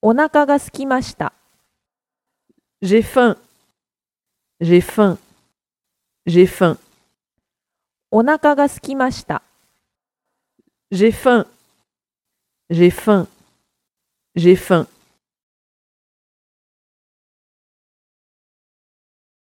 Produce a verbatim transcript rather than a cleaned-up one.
お腹が空きました。J'ai faim. J'ai faim. J'ai faim. お腹が空きました。J'ai faim. J'ai faim. J'ai faim.